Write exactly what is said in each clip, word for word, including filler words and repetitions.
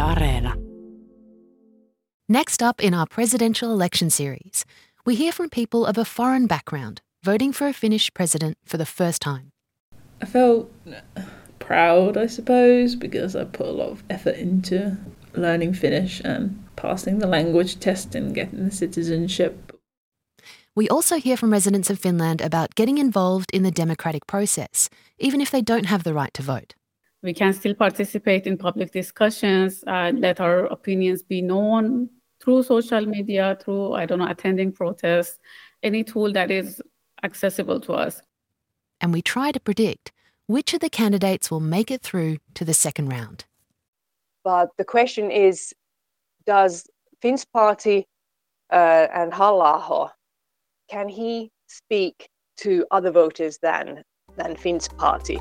Areena. Next up in our presidential election series, we hear from people of a foreign background voting for a Finnish president for the first time. I felt proud, I suppose, because I put a lot of effort into learning Finnish and passing the language test and getting the citizenship. We also hear from residents of Finland about getting involved in the democratic process, even if they don't have the right to vote. We can still participate in public discussions, uh, let our opinions be known through social media, through, I don't know, attending protests, any tool that is accessible to us. And we try to predict which of the candidates will make it through to the second round. But the question is, does Finns Party uh, and Halla-aho, can he speak to other voters than, than Finns Party?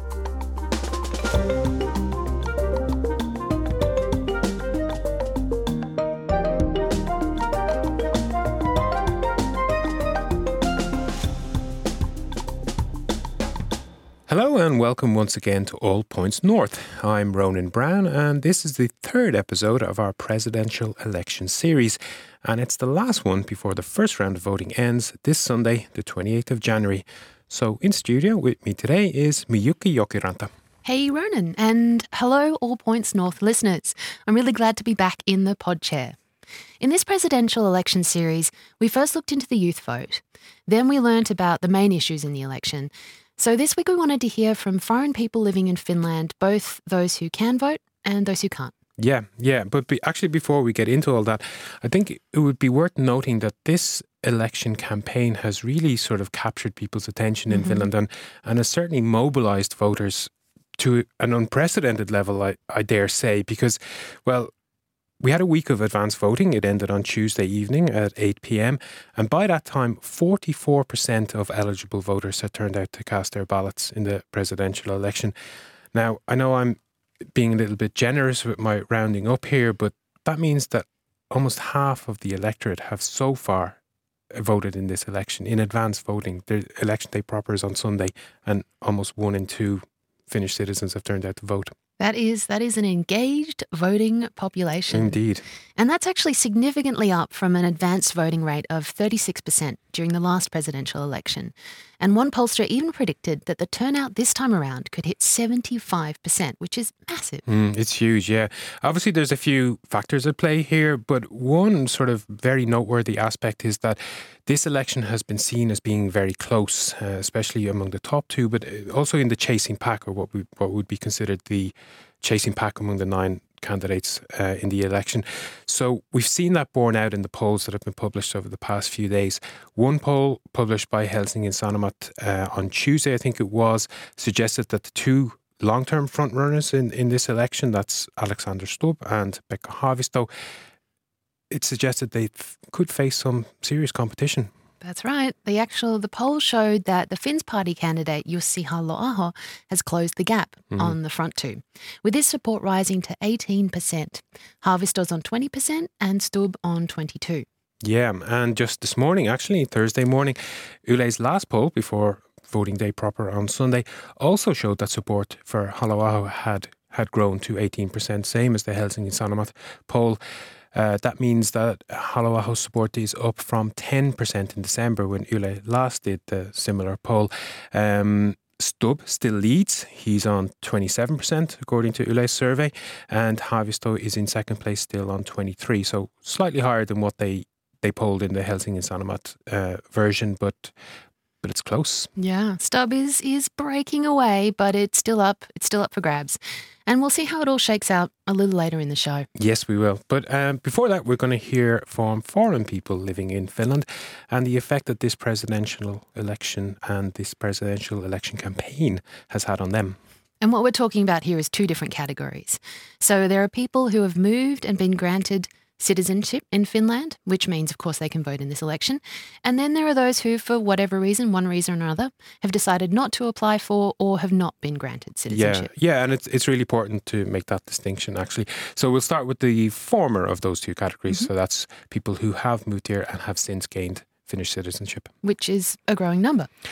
Hello and welcome once again to All Points North. I'm Ronan Brown and this is the third episode of our presidential election series, and it's the last one before the first round of voting ends this Sunday, the twenty-eighth of January. So in studio with me today is Miyuki Jokiranta. Hey Ronan, and hello All Points North listeners. I'm really glad to be back in the pod chair. In this presidential election series, we first looked into the youth vote. Then we learnt about the main issues in the election. So this week we wanted to hear from foreign people living in Finland, both those who can vote and those who can't. Yeah, yeah. But be, actually before we get into all that, I think it would be worth noting that this election campaign has really sort of captured people's attention in mm-hmm. Finland and, and has certainly mobilised voters to an unprecedented level, I, I dare say, because, well, we had a week of advance voting. It ended on Tuesday evening at eight p.m. And by that time, forty-four percent of eligible voters had turned out to cast their ballots in the presidential election. Now, I know I'm being a little bit generous with my rounding up here, but that means that almost half of the electorate have so far voted in this election, in advance voting. The election day proper is on Sunday, and almost one in two Finnish citizens have turned out to vote. That is that is an engaged voting population. Indeed. And that's actually significantly up from an advanced voting rate of thirty-six percent during the last presidential election. And one pollster even predicted that the turnout this time around could hit seventy-five percent, which is massive. Mm, it's huge, yeah. Obviously, there's a few factors at play here, but one sort of very noteworthy aspect is that this election has been seen as being very close, uh, especially among the top two, but also in the chasing pack, or what we what would be considered the chasing pack among the nine candidates uh, in the election. So we've seen that borne out in the polls that have been published over the past few days. One poll published by Helsingin Sanomat uh, on Tuesday, I think it was, suggested that the two long-term frontrunners in, in this election, that's Alexander Stubb and Pekka Haavisto, it suggested they f- could face some serious competition. That's right. The actual the poll showed that the Finns Party candidate Jussi Halla-aho has closed the gap mm-hmm. on the front two, with his support rising to eighteen percent. Haavisto's on twenty percent and Stubb on twenty-two. Yeah, and just this morning, actually, Thursday morning, Yle's last poll before voting day proper on Sunday also showed that support for Halla-aho had, had grown to eighteen percent, same as the Helsingin Sanomat poll. Uh, that means that Halla-aho's support is up from ten percent in December when Yle last did the similar poll. Um, Stubb still leads. He's on twenty-seven percent according to Yle's survey, and Haavisto is in second place still on twenty-three, so slightly higher than what they, they polled in the Helsingin Sanomat uh, version, but but it's close. Yeah, Stubb is is breaking away, but it's still up. It's still up for grabs. And we'll see how it all shakes out a little later in the show. Yes, we will. But um, before that, we're going to hear from foreign people living in Finland and the effect that this presidential election and this presidential election campaign has had on them. And what we're talking about here is two different categories. So there are people who have moved and been granted citizenship in Finland, which means, of course, they can vote in this election. And then there are those who, for whatever reason, one reason or another, have decided not to apply for or have not been granted citizenship. Yeah, yeah, and it's it's really important to make that distinction, actually. So we'll start with the former of those two categories. Mm-hmm. So that's people who have moved here and have since gained Finnish citizenship. Which is a growing number.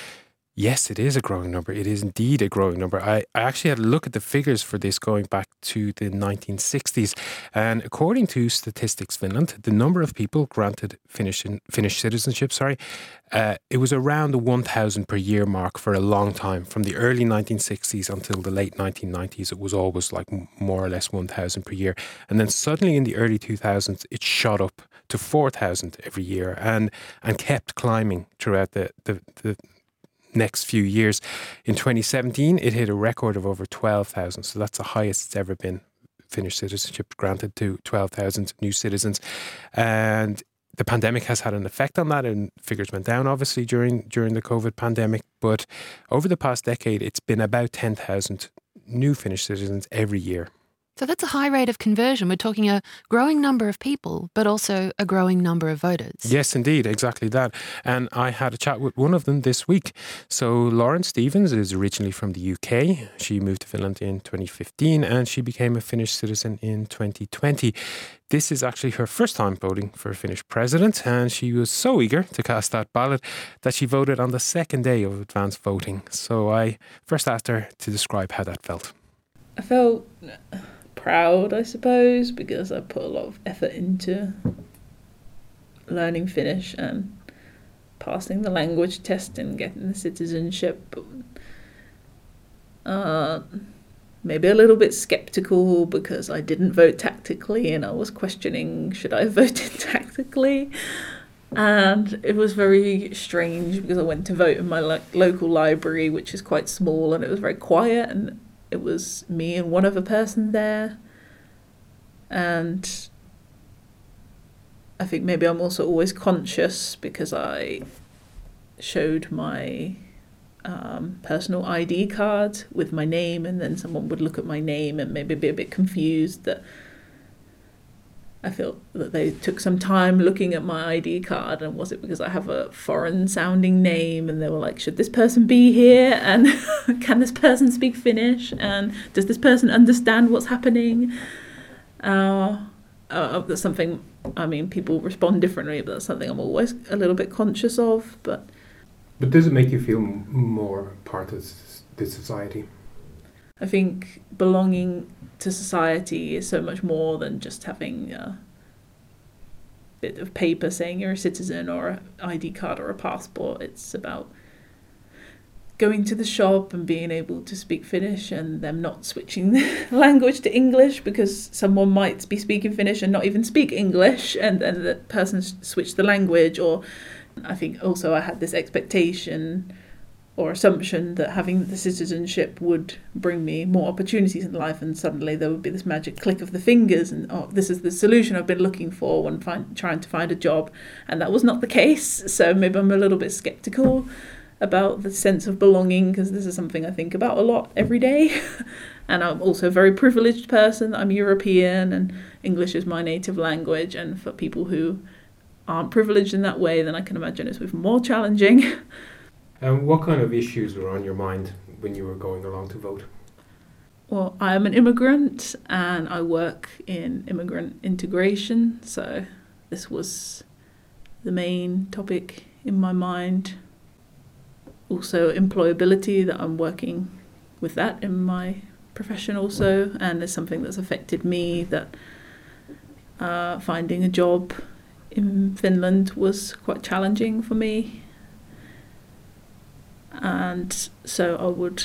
Yes, it is a growing number. It is indeed a growing number. I, I actually had a look at the figures for this going back to the nineteen sixties. And according to Statistics Finland, the number of people granted Finnish, Finnish citizenship, sorry, uh, it was around the one thousand per year mark for a long time. From the early nineteen sixties until the late nineteen nineties, it was always like more or less one thousand per year. And then suddenly in the early two thousands, it shot up to four thousand every year and, and kept climbing throughout the, the, the next few years. In twenty seventeen, it hit a record of over twelve thousand. So that's the highest it's ever been. Finnish citizenship granted to twelve thousand new citizens. And the pandemic has had an effect on that, and figures went down obviously during during the COVID pandemic. But over the past decade, it's been about ten thousand new Finnish citizens every year. So that's a high rate of conversion. We're talking a growing number of people, but also a growing number of voters. Yes, indeed, exactly that. And I had a chat with one of them this week. So Lauren Stevens is originally from the U K. She moved to Finland in twenty fifteen and she became a Finnish citizen in twenty twenty. This is actually her first time voting for a Finnish president, and she was so eager to cast that ballot that she voted on the second day of advance voting. So I first asked her to describe how that felt. I felt proud, I suppose, because I put a lot of effort into learning Finnish and passing the language test and getting the citizenship. Uh, maybe a little bit skeptical because I didn't vote tactically and I was questioning, should I have voted tactically? And it was very strange because I went to vote in my lo- local library, which is quite small, and it was very quiet, and it was me and one other person there. And I think maybe I'm also always conscious because I showed my um, personal I D card with my name, and then someone would look at my name and maybe be a bit confused that I feel that they took some time looking at my I D card, and was it because I have a foreign sounding name, and they were like, should this person be here, and can this person speak Finnish, and does this person understand what's happening? Uh, uh, that's something, I mean, people respond differently, but that's something I'm always a little bit conscious of. But But does it make you feel m- more part of this society? I think belonging to society is so much more than just having a bit of paper saying you're a citizen or an I D card or a passport. It's about going to the shop and being able to speak Finnish and them not switching the language to English because someone might be speaking Finnish and not even speak English, and then the person switched the language. Or I think also I had this expectation or assumption that having the citizenship would bring me more opportunities in life, and suddenly there would be this magic click of the fingers and, oh, this is the solution I've been looking for when find, trying to find a job. And that was not the case. So maybe I'm a little bit skeptical about the sense of belonging, because this is something I think about a lot every day. And I'm also a very privileged person. I'm European and English is my native language. And for people who aren't privileged in that way, then I can imagine it's even more challenging. And what kind of issues were on your mind when you were going along to vote? Well, I am an immigrant and I work in immigrant integration. So this was the main topic in my mind. Also employability, that I'm working with that in my profession also, and it's something that's affected me, that uh, finding a job in Finland was quite challenging for me. And so I would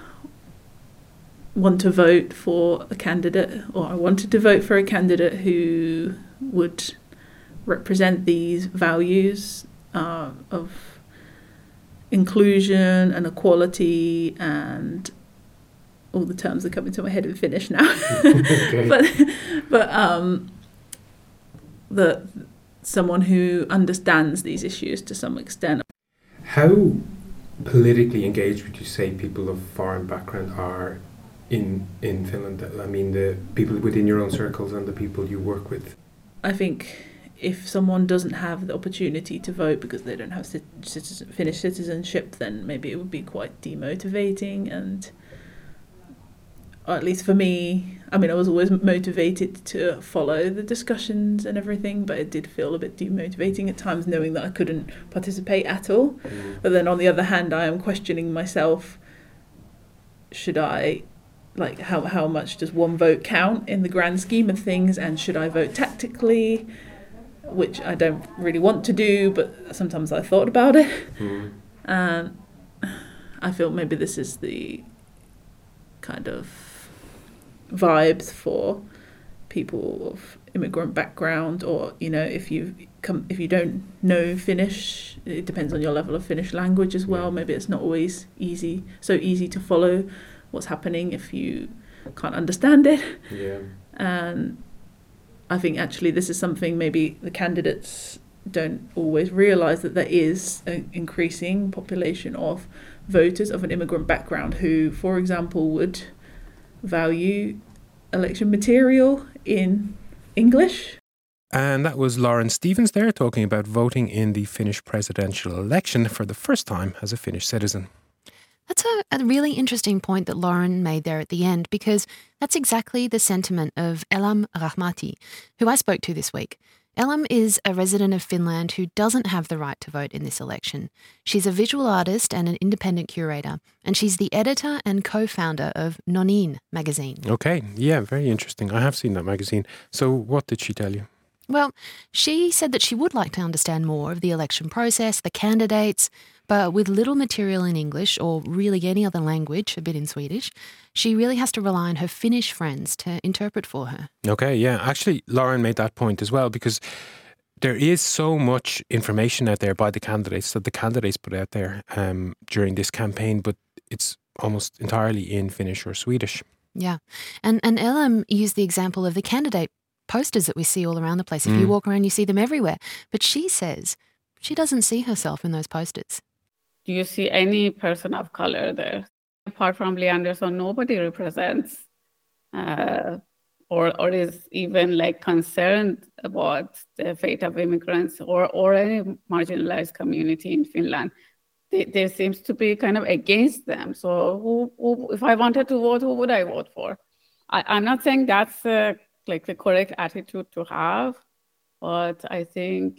want to vote for a candidate, or I wanted to vote for a candidate who would represent these values uh, of inclusion and equality and all the terms that come into my head in Finnish now. Okay. but but um, the someone who understands these issues to some extent. How politically engaged would you say people of foreign background are in in Finland? I mean, the people within your own circles and the people you work with. I think if someone doesn't have the opportunity to vote because they don't have citizen, Finnish citizenship, then maybe it would be quite demotivating. And or at least for me, I mean, I was always motivated to follow the discussions and everything, but it did feel a bit demotivating at times knowing that I couldn't participate at all. Mm. But then on the other hand, I am questioning myself, should I, like, how, how much does one vote count in the grand scheme of things, and should I vote tactically, which I don't really want to do, but sometimes I thought about it. Mm. And I feel maybe this is the kind of vibes for people of immigrant background, or you know, if you come if you don't know Finnish, it depends on your level of Finnish language as well. Maybe it's not always easy so easy to follow what's happening if you can't understand it. Yeah. And I think actually this is something maybe the candidates don't always realize, that there is an increasing population of voters of an immigrant background who, for example, would value election material in English. And that was Lauren Stevens there talking about voting in the Finnish presidential election for the first time as a Finnish citizen. That's a, a really interesting point that Lauren made there at the end, because that's exactly the sentiment of Elam Rahmati, who I spoke to this week. Elam is a resident of Finland who doesn't have the right to vote in this election. She's a visual artist and an independent curator, and she's the editor and co-founder of Nonin magazine. Okay, yeah, very interesting. I have seen that magazine. So what did she tell you? Well, she said that she would like to understand more of the election process, the candidates, but with little material in English or really any other language, a bit in Swedish, she really has to rely on her Finnish friends to interpret for her. Okay, yeah. Actually, Lauren made that point as well, because there is so much information out there by the candidates that the candidates put out there um, during this campaign, but it's almost entirely in Finnish or Swedish. Yeah. And, and Elam used the example of the candidate posters that we see all around the place. If mm. you walk around, you see them everywhere. But she says she doesn't see herself in those posters. Do you see any person of color there? Apart from Li Andersson, nobody represents uh, or or is even like concerned about the fate of immigrants or, or any marginalized community in Finland. They, there seems to be kind of against them. So who, who, if I wanted to vote, who would I vote for? I, I'm not saying that's uh, like the correct attitude to have, but I think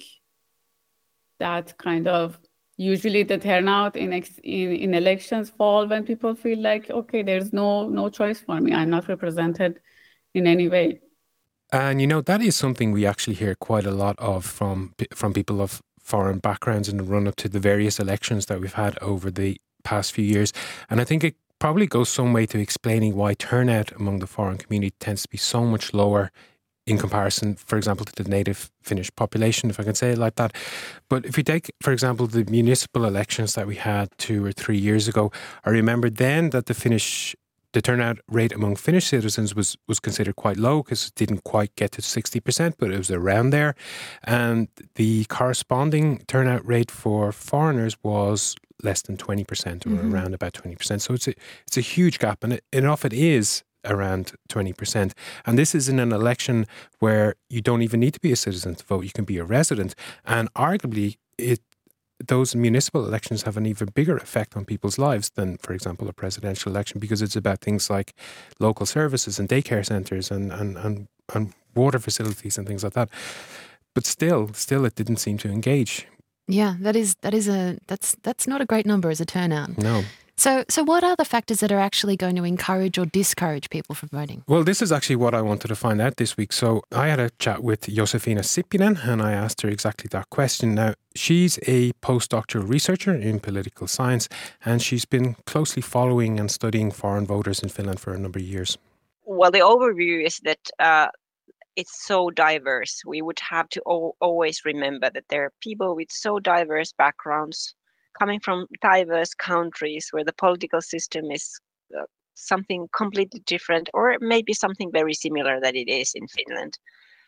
that kind of usually the turnout in, ex- in in elections fall when people feel like, okay, there's no no choice for me. I'm not represented in any way. And you know, that is something we actually hear quite a lot of from from people of foreign backgrounds in the run up to the various elections that we've had over the past few years. And I think it probably goes some way to explaining why turnout among the foreign community tends to be so much lower in comparison, for example, to the native Finnish population, if I can say it like that. But if you take, for example, the municipal elections that we had two or three years ago, I remember then that the Finnish, the turnout rate among Finnish citizens was, was considered quite low because it didn't quite get to sixty percent, but it was around there. And the corresponding turnout rate for foreigners was less than twenty percent or mm-hmm. around about twenty percent. So it's a, it's a huge gap, and it, enough it is around twenty percent. And this is in an election where you don't even need to be a citizen to vote. You can be a resident. And arguably, it those municipal elections have an even bigger effect on people's lives than, for example, a presidential election, because it's about things like local services and daycare centres and, and, and, and water facilities and things like that. But still, still it didn't seem to engage. Yeah, that is that is a that's that's not a great number as a turnout. No. So, so what are the factors that are actually going to encourage or discourage people from voting? Well, this is actually what I wanted to find out this week. So I had a chat with Josefina Sippinen and I asked her exactly that question. Now, she's a postdoctoral researcher in political science and she's been closely following and studying foreign voters in Finland for a number of years. Well, the overview is that uh, it's so diverse. We would have to o- always remember that there are people with so diverse backgrounds coming from diverse countries where the political system is uh, something completely different, or maybe something very similar that it is in Finland.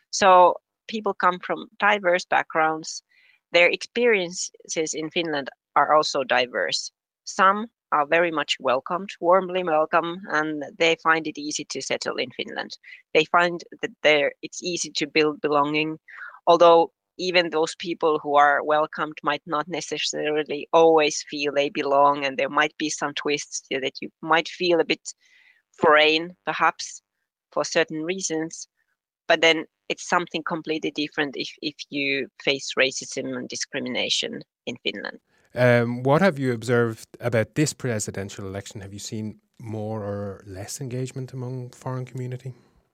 So people come from diverse backgrounds. Their experiences in Finland are also diverse. Some are very much welcomed, warmly welcome, and they find it easy to settle in Finland. They find that there it's easy to build belonging, although even those people who are welcomed might not necessarily always feel they belong, and there might be some twists that you might feel a bit foreign, perhaps. for certain reasons, but then it's something completely different if, if you face racism and discrimination in Finland. Um, what have you observed about this presidential election? Have you seen more or less engagement among foreign community?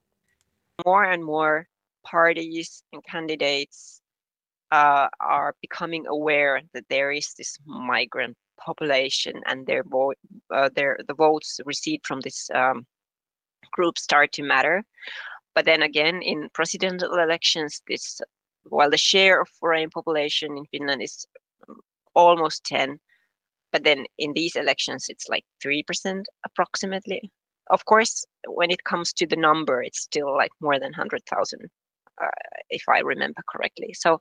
More and more parties and candidates uh, are becoming aware that there is this migrant population, and their vo- uh, their the votes received from this um, group start to matter. But then again, in presidential elections, this while the share of foreign population in Finland is almost ten, but then in these elections it's like three percent approximately. Of course, when it comes to the number, it's still like more than one hundred thousand, uh, if I remember correctly. So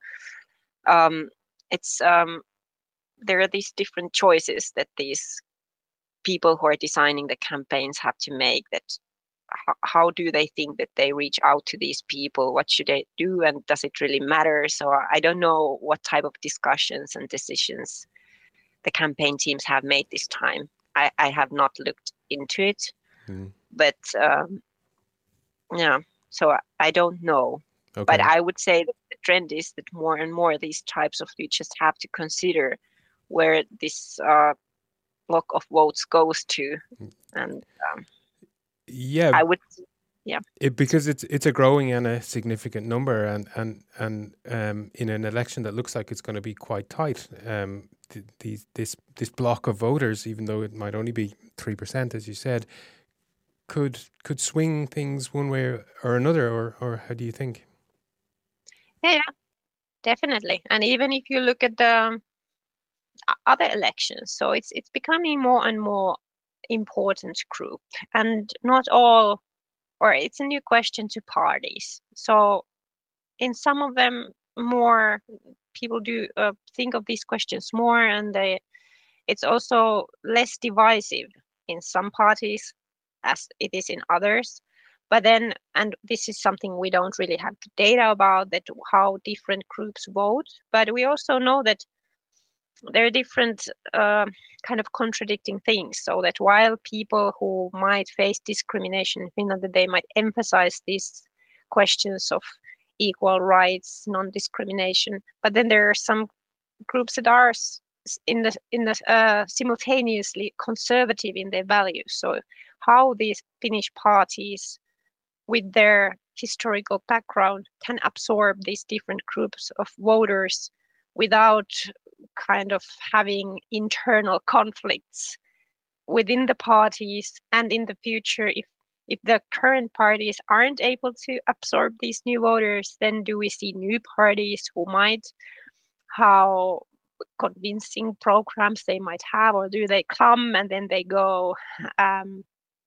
um, it's um, there are these different choices that these people who are designing the campaigns have to make. That h- how do they think that they reach out to these people? What should they do, and does it really matter? So I don't know what type of discussions and decisions the campaign teams have made this time. I, I have not looked into it, mm. but um, yeah, so I, I don't know. Okay. But I would say that the trend is that more and more these types of, you just have to consider where this uh, block of votes goes to, and um, yeah, I would, yeah, it, because it's it's a growing and a significant number, and and and um, in an election that looks like it's going to be quite tight. Um, th- these this this block of voters, even though it might only be three percent, as you said, could could swing things one way or another, or or how do you think? Yeah, definitely. And even if you look at the other elections, so it's it's becoming more and more important group, and not all, or it's a new question to parties. So in some of them, more people do uh, think of these questions more, and they it's also less divisive in some parties as it is in others. But then, and this is something we don't really have the data about, that how different groups vote, but we also know that there are different uh, kind of contradicting things. So that while people who might face discrimination in Finland, that they might emphasize these questions of equal rights, non-discrimination, but then there are some groups that are in the in the uh, simultaneously conservative in their values. So how these Finnish parties, with their historical background, can absorb these different groups of voters without kind of having internal conflicts within the parties, and in the future, if if the current parties aren't able to absorb these new voters, then do we see new parties who might, how convincing programs they might have, or do they come and then they go? Um,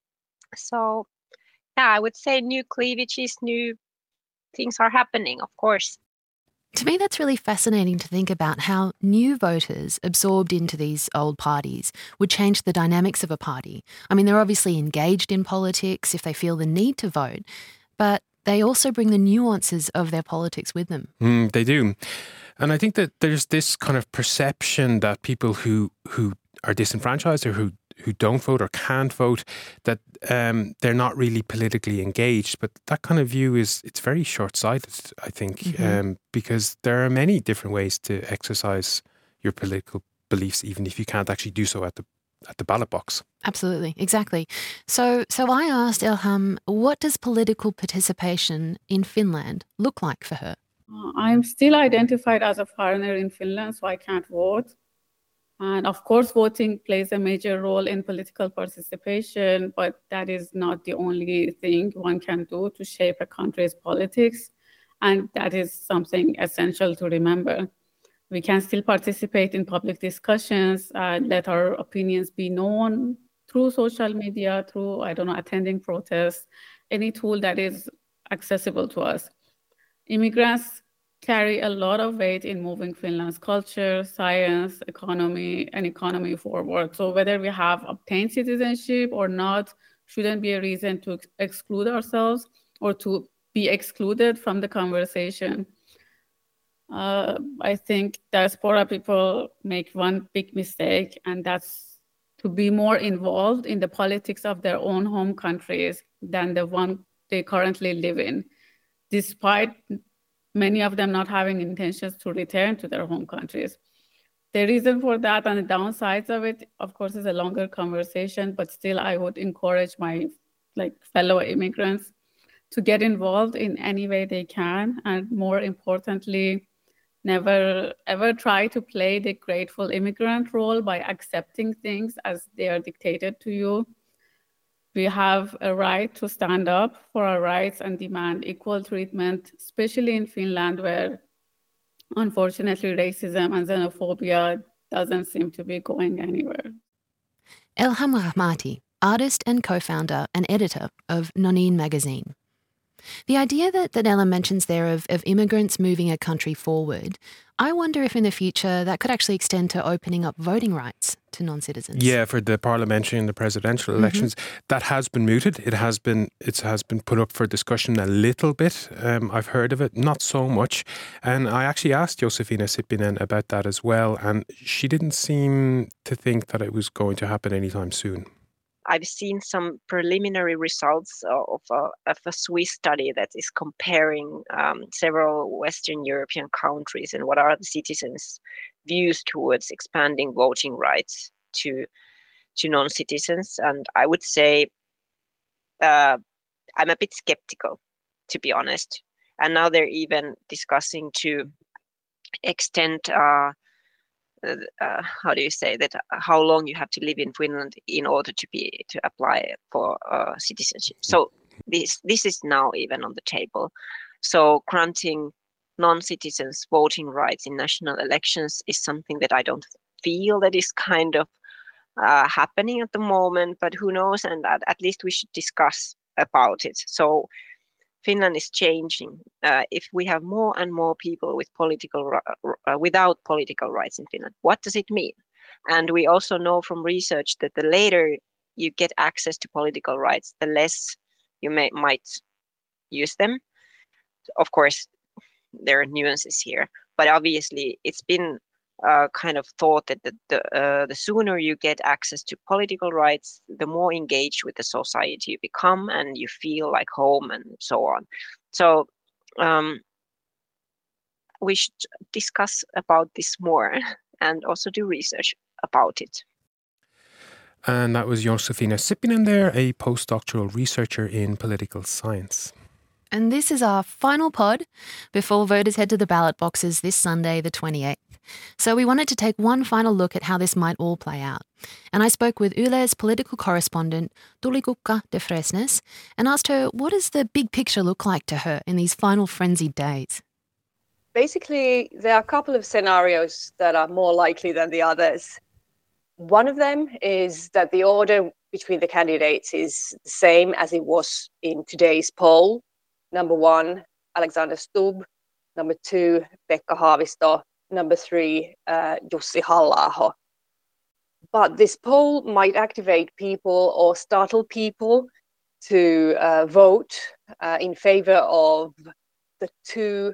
so yeah, I would say new cleavages, new things are happening, of course. To me, that's really fascinating to think about how new voters absorbed into these old parties would change the dynamics of a party. I mean, they're obviously engaged in politics if they feel the need to vote, but they also bring the nuances of their politics with them. Mm, they do. And I think that there's this kind of perception that people who who are disenfranchised or who who don't vote or can't vote, that um, they're not really politically engaged. But that kind of view is, it's very short-sighted, I think, mm-hmm. um, because there are many different ways to exercise your political beliefs, even if you can't actually do so at the at the ballot box. Absolutely, exactly. So, so I asked Ilham, what does political participation in Finland look like for her? Uh, I'm still identified as a foreigner in Finland, so I can't vote. And of course, voting plays a major role in political participation, but that is not the only thing one can do to shape a country's politics. And that is something essential to remember. We can still participate in public discussions, uh, let our opinions be known through social media, through, I don't know, attending protests, any tool that is accessible to us. Immigrants carry a lot of weight in moving Finland's culture, science, economy, and economy forward. So whether we have obtained citizenship or not shouldn't be a reason to ex- exclude ourselves or to be excluded from the conversation. Uh, I think diaspora people make one big mistake, and that's to be more involved in the politics of their own home countries than the one they currently live in, despite many of them not having intentions to return to their home countries. The reason for that and the downsides of it, of course, is a longer conversation, but still I would encourage my like fellow immigrants to get involved in any way they can. And more importantly, never ever try to play the grateful immigrant role by accepting things as they are dictated to you. We have a right to stand up for our rights and demand equal treatment, especially in Finland, where unfortunately racism and xenophobia doesn't seem to be going anywhere. Elham Rahmati, artist and co-founder and editor of Nonin magazine. The idea that, that Ella mentions there of, of immigrants moving a country forward, I wonder if in the future that could actually extend to opening up voting rights to non-citizens. Yeah, for the parliamentary and the presidential elections, mm-hmm. that has been mooted. It has been it has been put up for discussion a little bit. Um, I've heard of it, not so much. And I actually asked Josefina Sippinen about that as well, and she didn't seem to think that it was going to happen anytime soon. I've seen some preliminary results of a, of a Swiss study that is comparing um, several Western European countries and what are the citizens' views towards expanding voting rights to to non-citizens. And I would say uh, I'm a bit skeptical, to be honest. And now they're even discussing to extend uh, Uh, how do you say that? Uh, how long you have to live in Finland in order to be to apply for uh, citizenship. So this this is now even on the table. So granting non-citizens voting rights in national elections is something that I don't feel that is kind of uh, happening at the moment. But who knows? And at, at least we should discuss about it. So Finland is changing. Uh, if we have more and more people with political uh, without political rights in Finland, what does it mean? And we also know from research that the later you get access to political rights, the less you may might use them. Of course, there are nuances here, but obviously it's been uh, kind of thought that the the, uh, the sooner you get access to political rights, the more engaged with the society you become, and you feel like home, and so on. So um, we should discuss about this more and also do research about it. And that was Josefina Sippinen there, a postdoctoral researcher in political science. And this is our final pod before voters head to the ballot boxes this Sunday, the twenty-eighth. So we wanted to take one final look at how this might all play out. And I spoke with Yle's political correspondent, Tuulikukka de Fresnes, and asked her, what does the big picture look like to her in these final frenzied days? Basically, there are a couple of scenarios that are more likely than the others. One of them is that the order between the candidates is the same as it was in today's poll. Number one, Alexander Stubb. Number two, Pekka Haavisto. Number three, uh, Jussi Halla-aho. But this poll might activate people or startle people to uh, vote uh, in favor of the two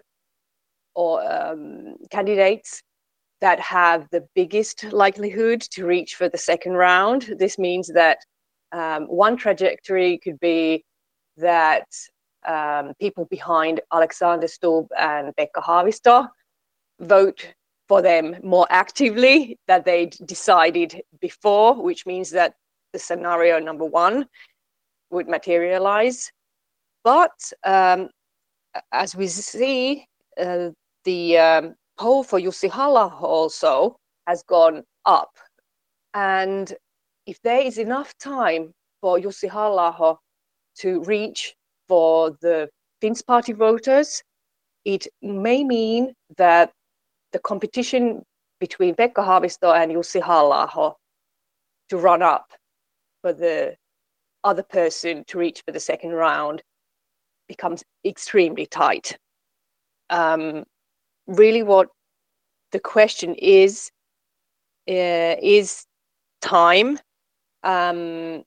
or um, candidates that have the biggest likelihood to reach for the second round. This means that um, one trajectory could be that um, people behind Alexander Stubb and Pekka Haavisto vote for them more actively than they decided before, which means that the scenario number one would materialize. But um, as we see, uh, the um, poll for Jussi Halla-aho also has gone up. And if there is enough time for Jussi Halla-aho to reach for the Finns Party voters, it may mean that the competition between Pekka Haavisto and Jussi Halla-aho to run up for the other person to reach for the second round becomes extremely tight. Um, really what the question is, uh, is time um,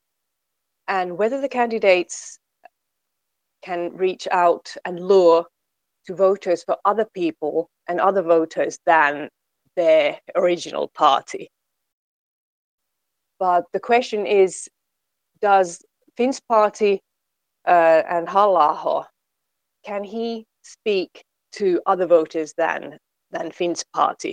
and whether the candidates can reach out and lure to voters for other people and other voters than their original party. But the question is, does Finns Party uh, and Halla-aho, can he speak to other voters than than Finn's party?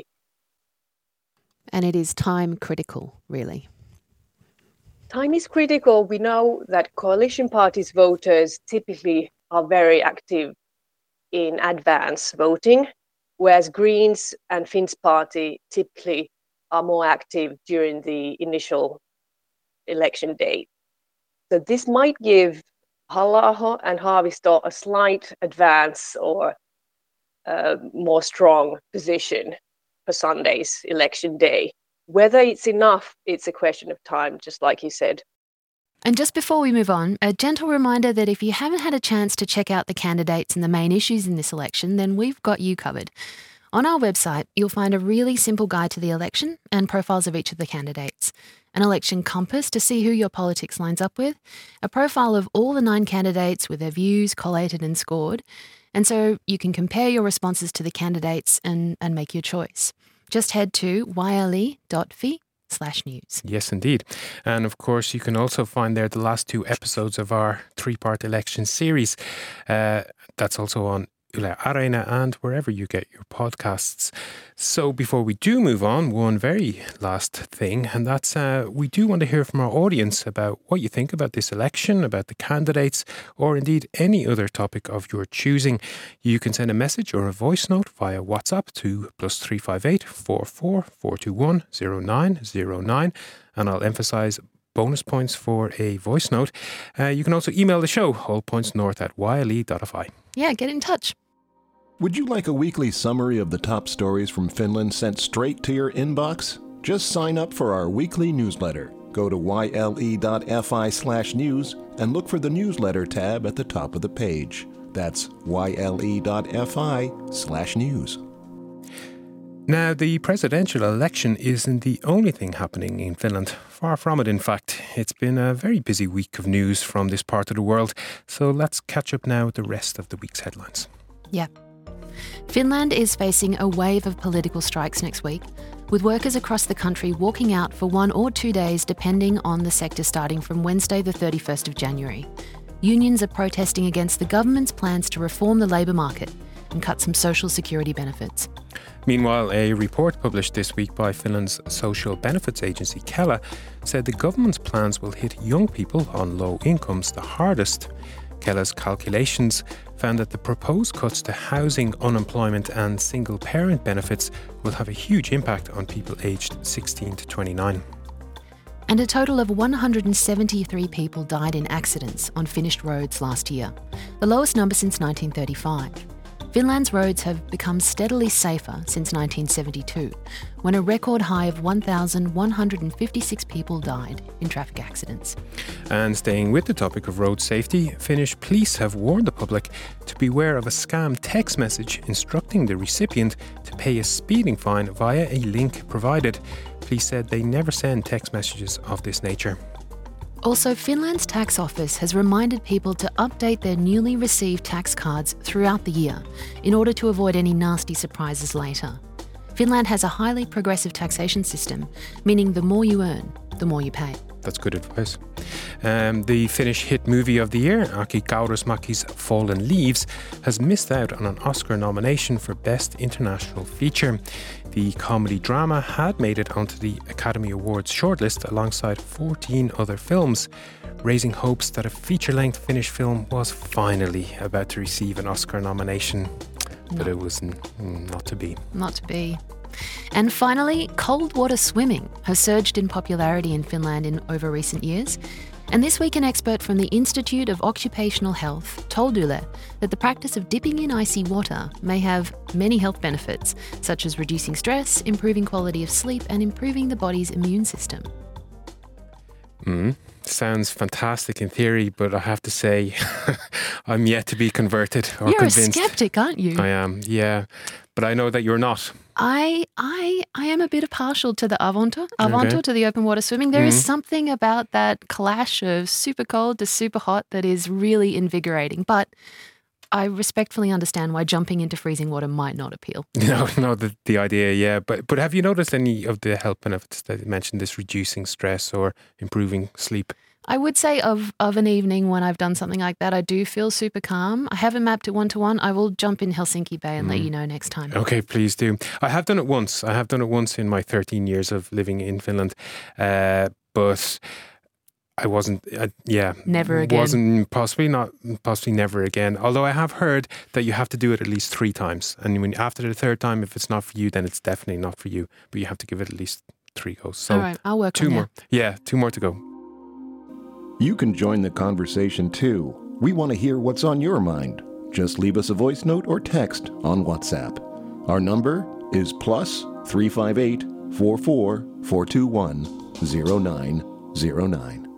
And it is time critical, really. Time is critical. We know that coalition parties' voters typically are very active in advance voting, whereas Greens and Finn's party typically are more active during the initial election day. So this might give Halla-aho and Haavisto a slight advance or a more strong position for Sunday's election day. Whether it's enough, it's a question of time, just like you said. And just before we move on, a gentle reminder that if you haven't had a chance to check out the candidates and the main issues in this election, then we've got you covered. On our website, you'll find a really simple guide to the election and profiles of each of the candidates, an election compass to see who your politics lines up with, a profile of all the nine candidates with their views collated and scored, and so you can compare your responses to the candidates and, and make your choice. Just head to yle.fi slash news. Yes, indeed. And of course, you can also find there the last two episodes of our three-part election series. Uh, that's also on Yle Areena and wherever you get your podcasts. So before we do move on, one very last thing, and that's uh, we do want to hear from our audience about what you think about this election, about the candidates, or indeed any other topic of your choosing. You can send a message or a voice note via WhatsApp to plus three five eight, four four, four two one, zero nine zero nine, and I'll emphasise bonus points for a voice note. Uh, you can also email the show, allpointsnorth at yle dot fi. Yeah, get in touch. Would you like a weekly summary of the top stories from Finland sent straight to your inbox? Just sign up for our weekly newsletter. Go to yle.fi slash news and look for the newsletter tab at the top of the page. That's yle.fi slash news. Now, the presidential election isn't the only thing happening in Finland. Far from it, in fact. It's been a very busy week of news from this part of the world. So let's catch up now with the rest of the week's headlines. Yeah. Finland is facing a wave of political strikes next week, with workers across the country walking out for one or two days depending on the sector starting from Wednesday the thirty-first of January. Unions are protesting against the government's plans to reform the labour market and cut some social security benefits. Meanwhile, a report published this week by Finland's social benefits agency Kela said the government's plans will hit young people on low incomes the hardest. Kela's calculations found that the proposed cuts to housing, unemployment and single-parent benefits will have a huge impact on people aged sixteen to twenty-nine. And a total of one hundred seventy-three people died in accidents on Finnish roads last year, the lowest number since nineteen thirty-five. Finland's roads have become steadily safer since nineteen seventy-two, when a record high of one thousand one hundred fifty-six people died in traffic accidents. And staying with the topic of road safety, Finnish police have warned the public to beware of a scam text message instructing the recipient to pay a speeding fine via a link provided. Police said they never send text messages of this nature. Also, Finland's tax office has reminded people to update their newly received tax cards throughout the year in order to avoid any nasty surprises later. Finland has a highly progressive taxation system, meaning the more you earn, the more you pay. That's good advice. Um, the Finnish hit movie of the year, Aki Kaurismäki's Fallen Leaves, has missed out on an Oscar nomination for Best International Feature. The comedy drama had made it onto the Academy Awards shortlist alongside fourteen other films, raising hopes that a feature-length Finnish film was finally about to receive an Oscar nomination. But No. it was n- not to be. Not to be. And finally, cold water swimming has surged in popularity in Finland in over recent years. And this week, an expert from the Institute of Occupational Health told Yle that the practice of dipping in icy water may have many health benefits, such as reducing stress, improving quality of sleep, and improving the body's immune system. Mm. Sounds fantastic in theory, but I have to say, I'm yet to be converted or You're convinced. a skeptic, aren't you? I am, yeah. But I know that you're not. I I I am a bit partial to the Avanto, Avanto Okay. to the open water swimming. There is Mhm. something about that clash of super cold to super hot that is really invigorating. But I respectfully understand why jumping into freezing water might not appeal. No, no, the, the idea, yeah. But but have you noticed any of the health benefits that you mentioned, this reducing stress or improving sleep? I would say of, of an evening when I've done something like that, I do feel super calm. I haven't mapped it one-to-one. I will jump in Helsinki Bay and mm. let you know next time. Okay, please do. I have done it once. I have done it once in my thirteen years of living in Finland. Uh, but I wasn't, uh, yeah. Never again. Wasn't, possibly not, possibly never again. Although I have heard that you have to do it at least three times. And when after the third time, if it's not for you, then it's definitely not for you. But you have to give it at least three goes. So all right, I'll work two on more. that. Yeah, two more to go. You can join the conversation too. We want to hear what's on your mind. Just leave us a voice note or text on WhatsApp. Our number is plus three five eight, four four, four two one, zero nine zero nine.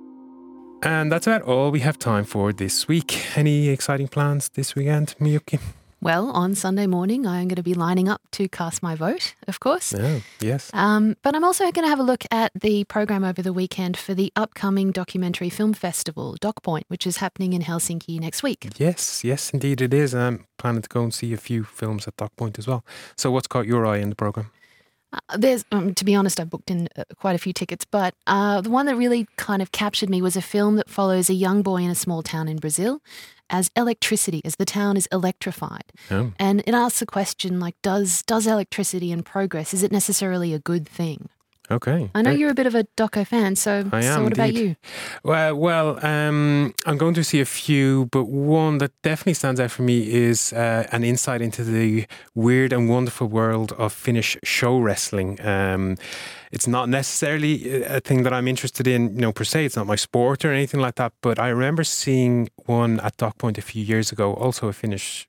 And that's about all we have time for this week. Any exciting plans this weekend, Miyuki? Well, on Sunday morning, I'm going to be lining up to cast my vote, of course. Oh, yes. Um, but I'm also going to have a look at the program over the weekend for the upcoming documentary film festival, DocPoint, which is happening in Helsinki next week. Yes, yes, indeed it is. I'm planning to go and see a few films at DocPoint as well. So what's caught your eye in the program? Uh, there's, um, to be honest, I booked in uh, quite a few tickets, but uh, the one that really kind of captured me was a film that follows a young boy in a small town in Brazil as electricity, as the town is electrified. Oh. And it asks the question, like, does does electricity and progress, is it necessarily a good thing? Okay. I know you're a bit of a doco fan, so, I am, so what indeed. about you? Well, well um, I'm going to see a few, but one that definitely stands out for me is uh, an insight into the weird and wonderful world of Finnish show wrestling. Um, it's not necessarily a thing that I'm interested in, you know, per se. It's not my sport or anything like that, but I remember seeing one at DocPoint a few years ago, also a Finnish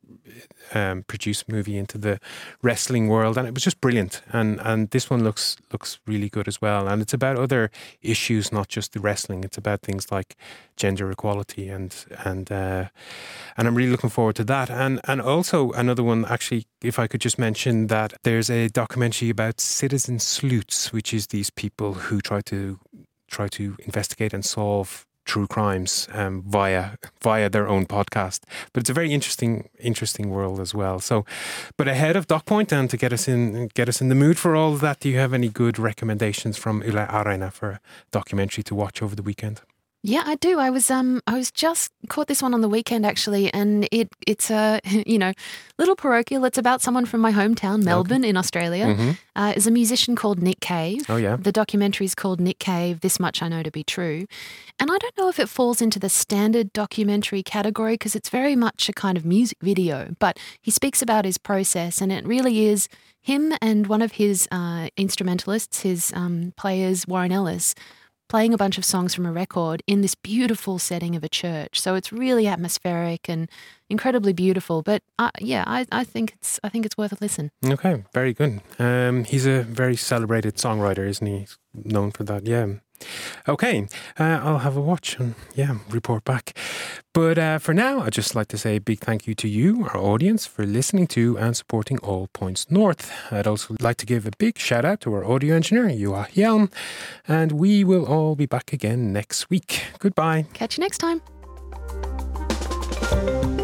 Um, produced movie into the wrestling world, and it was just brilliant. And and this one looks looks really good as well. And it's about other issues, not just the wrestling. It's about things like gender equality, and and uh, and I'm really looking forward to that. And and also another one, actually, if I could just mention that there's a documentary about citizen sleuths, which is these people who try to try to investigate and solve true crimes um, via via their own podcast. But it's a very interesting interesting world as well. So, but ahead of DocPoint, and to get us in get us in the mood for all of that, do you have any good recommendations from Yle Areena for a documentary to watch over the weekend? Yeah, I do. I was um I was just caught this one on the weekend actually, and it it's a you know little parochial. It's about someone from my hometown, Melbourne, okay. in Australia. Mm-hmm. Uh, is a musician called Nick Cave. Oh yeah. The documentary is called Nick Cave. This much I know to be true, and I don't know if it falls into the standard documentary category because it's very much a kind of music video. But he speaks about his process, and it really is him and one of his uh, instrumentalists, his um, players, Warren Ellis, playing a bunch of songs from a record in this beautiful setting of a church. So it's really atmospheric and incredibly beautiful. But uh, yeah, I, I think it's I think it's worth a listen. Okay, very good. Um, he's a very celebrated songwriter, isn't he? He's known for that. Yeah. Okay, uh, I'll have a watch and yeah, report back. But uh, for now, I'd just like to say a big thank you to you, our audience, for listening to and supporting All Points North. I'd also like to give a big shout out to our audio engineer, Juha Hjelm, and we will all be back again next week. Goodbye. Catch you next time.